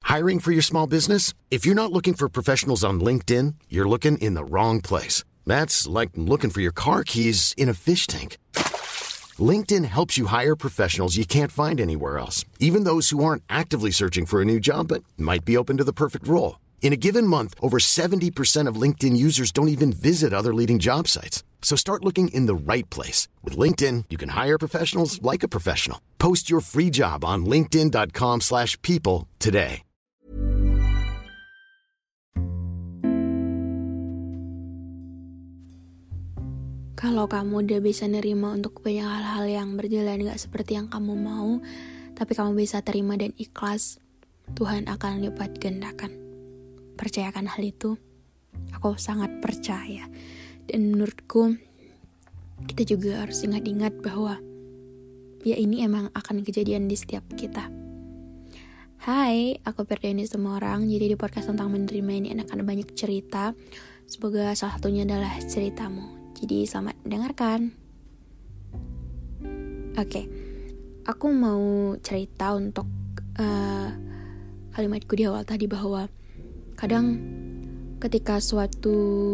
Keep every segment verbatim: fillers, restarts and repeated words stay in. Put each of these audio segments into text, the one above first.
Hiring for your small business? If you're not looking for professionals on LinkedIn, you're looking in the wrong place. That's like looking for your car keys in a fish tank. LinkedIn helps you hire professionals you can't find anywhere else, even those who aren't actively searching for a new job but might be open to the perfect role. In a given month, over seventy percent of LinkedIn users don't even visit other leading job sites. So start looking in the right place. With LinkedIn, you can hire professionals like a professional. Post your free job on linkedin.com slash people today. Kalau kamu udah bisa nerima untuk banyak hal-hal yang berjalan gak seperti yang kamu mau, tapi kamu bisa terima dan ikhlas, Tuhan akan lipat gandakan. Percayakan hal itu. Aku sangat percaya. Dan menurutku, kita juga harus ingat-ingat bahwa ya ini emang akan kejadian di setiap kita. Hai, aku Ferdiani semua orang. Jadi di podcast tentang menerima ini akan banyak cerita. Semoga salah satunya adalah ceritamu. Jadi selamat mendengarkan. Oke, okay. Aku mau cerita untuk uh, kalimatku di awal tadi bahwa kadang ketika suatu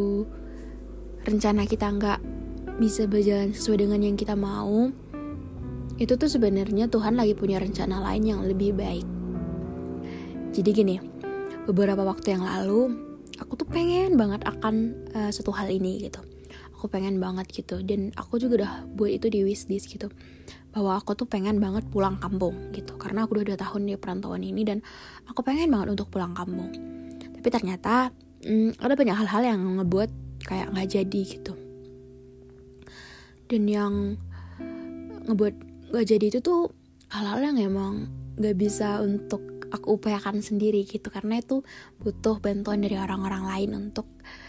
rencana kita nggak bisa berjalan sesuai dengan yang kita mau, itu tuh sebenarnya Tuhan lagi punya rencana lain yang lebih baik. Jadi gini, beberapa waktu yang lalu aku tuh pengen banget akan uh, satu hal ini gitu. Aku pengen banget gitu, dan aku juga udah buat itu di wishlist gitu, bahwa aku tuh pengen banget pulang kampung gitu, karena aku udah dua tahun di perantauan ini dan aku pengen banget untuk pulang kampung. Tapi ternyata hmm, ada banyak hal-hal yang ngebuat kayak gak jadi gitu. Dan yang ngebuat gak jadi itu tuh hal-hal yang emang gak bisa untuk aku upayakan sendiri gitu, karena itu butuh bantuan dari orang-orang lain untuk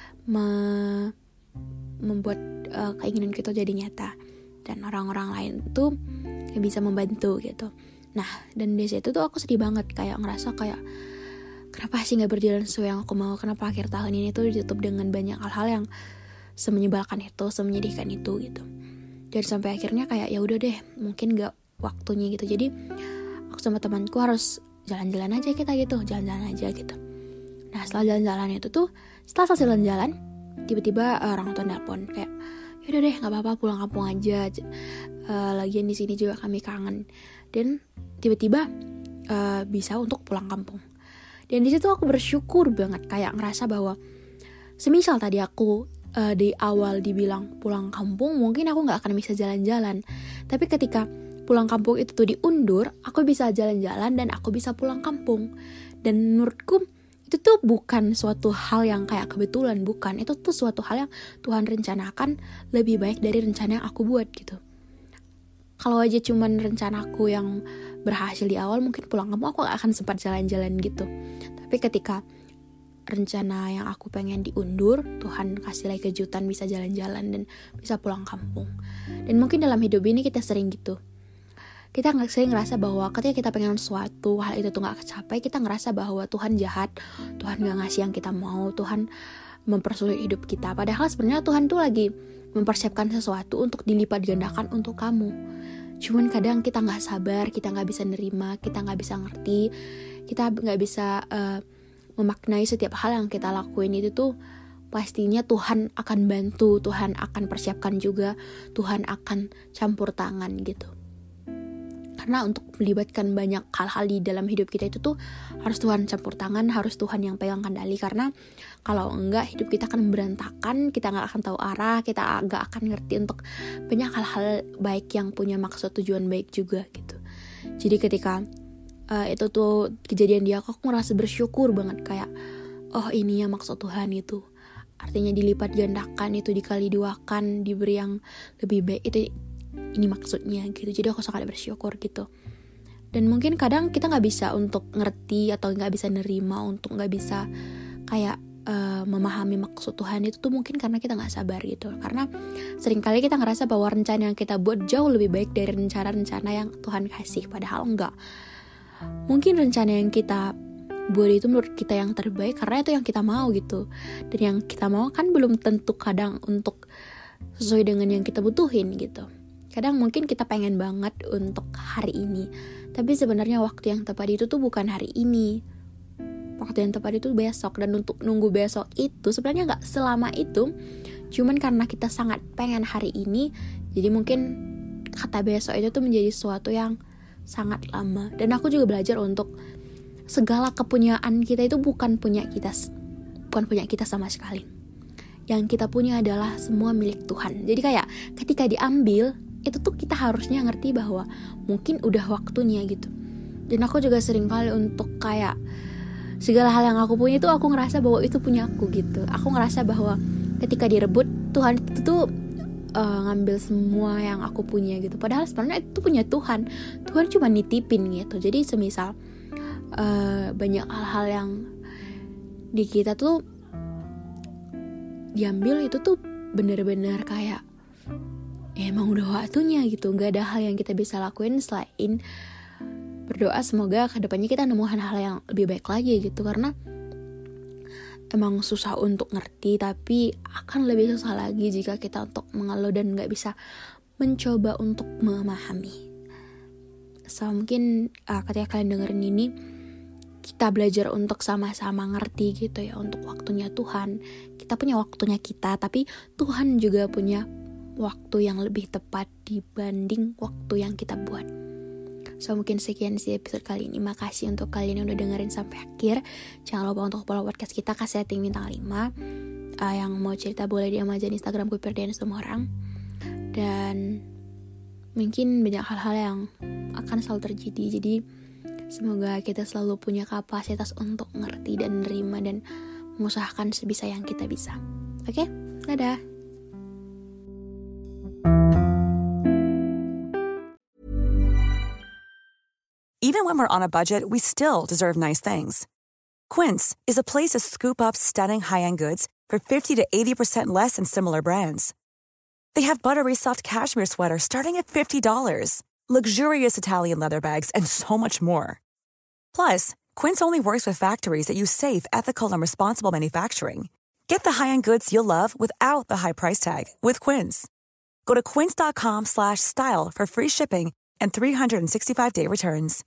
me- membuat uh, keinginan kita jadi nyata, dan orang-orang lain tuh gak bisa membantu gitu. Nah, dan di situ tuh aku sedih banget, kayak ngerasa kayak kenapa sih gak berjalan sesuai yang aku mau, kenapa akhir tahun ini tuh ditutup dengan banyak hal-hal yang semenyebalkan itu, semenyedihkan itu gitu. Dan sampai akhirnya kayak ya udah deh, mungkin gak waktunya gitu. Jadi aku sama temanku harus jalan-jalan aja kita gitu, jalan-jalan aja gitu. Nah, setelah jalan-jalan itu tuh, setelah selesai jalan-jalan, tiba-tiba uh, orang tua nelpon kayak, yaudah deh nggak apa-apa pulang kampung aja, uh, lagian di sini juga kami kangen. Dan tiba-tiba uh, bisa untuk pulang kampung. Dan di situ aku bersyukur banget, kayak ngerasa bahwa semisal tadi aku uh, di awal dibilang pulang kampung, mungkin aku nggak akan bisa jalan-jalan. Tapi ketika pulang kampung itu tuh diundur, aku bisa jalan-jalan dan aku bisa pulang kampung. Dan menurutku itu tuh bukan suatu hal yang kayak kebetulan, bukan. Itu tuh suatu hal yang Tuhan rencanakan lebih baik dari rencana yang aku buat gitu. Kalau aja cuman rencanaku yang berhasil di awal, mungkin pulang kampung aku gak akan sempat jalan-jalan gitu. Tapi ketika rencana yang aku pengen diundur, Tuhan kasih lagi kejutan bisa jalan-jalan dan bisa pulang kampung. Dan mungkin dalam hidup ini kita sering gitu. Kita nggak sering ngerasa bahwa ketika kita pengen sesuatu, hal itu tuh nggak kecapai, kita ngerasa bahwa Tuhan jahat, Tuhan nggak ngasih yang kita mau, Tuhan mempersulit hidup kita. Padahal sebenarnya Tuhan tuh lagi mempersiapkan sesuatu untuk dilipat gandakan untuk kamu. Cuman kadang kita nggak sabar, kita nggak bisa nerima, kita nggak bisa ngerti, kita nggak bisa uh, memaknai setiap hal yang kita lakuin itu tuh pastinya Tuhan akan bantu, Tuhan akan persiapkan juga, Tuhan akan campur tangan gitu. Karena untuk melibatkan banyak hal-hal di dalam hidup kita itu tuh harus Tuhan campur tangan, harus Tuhan yang pegang kendali. Karena kalau enggak, hidup kita akan berantakan, kita gak akan tahu arah, kita gak akan ngerti untuk banyak hal-hal baik yang punya maksud tujuan baik juga gitu. Jadi ketika uh, itu tuh kejadian di aku, aku ngerasa bersyukur banget, kayak oh ini ya maksud Tuhan itu. Artinya dilipat gandakan, itu dikali duakan, diberi yang lebih baik, itu ini maksudnya gitu. Jadi aku sangat bersyukur gitu. Dan mungkin kadang kita gak bisa untuk ngerti atau gak bisa nerima, untuk gak bisa kayak uh, memahami maksud Tuhan itu tuh mungkin karena kita gak sabar gitu. Karena seringkali kita ngerasa bahwa rencana yang kita buat jauh lebih baik dari rencana-rencana yang Tuhan kasih, padahal enggak. Mungkin rencana yang kita buat itu menurut kita yang terbaik karena itu yang kita mau gitu. Dan yang kita mau kan belum tentu kadang untuk sesuai dengan yang kita butuhin gitu. Kadang mungkin kita pengen banget untuk hari ini, tapi sebenarnya waktu yang tepat itu tuh bukan hari ini, waktu yang tepat itu besok. Dan untuk nunggu besok itu sebenarnya gak selama itu, cuman karena kita sangat pengen hari ini, jadi mungkin kata besok itu tuh menjadi sesuatu yang sangat lama. Dan aku juga belajar untuk segala kepunyaan kita itu bukan punya kita, bukan punya kita sama sekali. Yang kita punya adalah semua milik Tuhan. Jadi kayak ketika diambil, itu tuh kita harusnya ngerti bahwa mungkin udah waktunya gitu. Dan aku juga sering kali untuk kayak segala hal yang aku punya itu aku ngerasa bahwa itu punya aku gitu. Aku ngerasa bahwa ketika direbut, Tuhan itu tuh uh, ngambil semua yang aku punya gitu. Padahal sebenarnya itu punya Tuhan. Tuhan cuma nitipin gitu. Jadi semisal uh, banyak hal-hal yang di kita tuh diambil, itu tuh bener-bener kayak ya emang udah waktunya gitu. Gak ada hal yang kita bisa lakuin selain berdoa semoga kedepannya kita nemu hal-hal yang lebih baik lagi gitu. Karena emang susah untuk ngerti, tapi akan lebih susah lagi jika kita untuk mengeluh dan gak bisa mencoba untuk memahami. So mungkin uh, ketika kalian dengerin ini, kita belajar untuk sama-sama ngerti gitu ya, untuk waktunya Tuhan. Kita punya waktunya kita, tapi Tuhan juga punya waktu yang lebih tepat dibanding waktu yang kita buat. So mungkin sekian sih episode kali ini. Makasih untuk kalian yang udah dengerin sampai akhir. Jangan lupa untuk follow podcast kita, kasih rating bintang lima. uh, Yang mau cerita boleh D M aja di Instagram Kuperdian semua orang. Dan mungkin banyak hal-hal yang akan selalu terjadi. Jadi semoga kita selalu punya kapasitas untuk ngerti dan nerima dan mengusahakan sebisa yang kita bisa. Oke? Okay? Dadah! Even when we're on a budget, we still deserve nice things. Quince is a place to scoop up stunning high-end goods for fifty to eighty percent less than similar brands. They have buttery soft cashmere sweaters starting at fifty dollars, luxurious Italian leather bags, and so much more. Plus, Quince only works with factories that use safe, ethical, and responsible manufacturing. Get the high-end goods you'll love without the high price tag with Quince. Go to quince.com slash style for free shipping and three sixty-five day returns.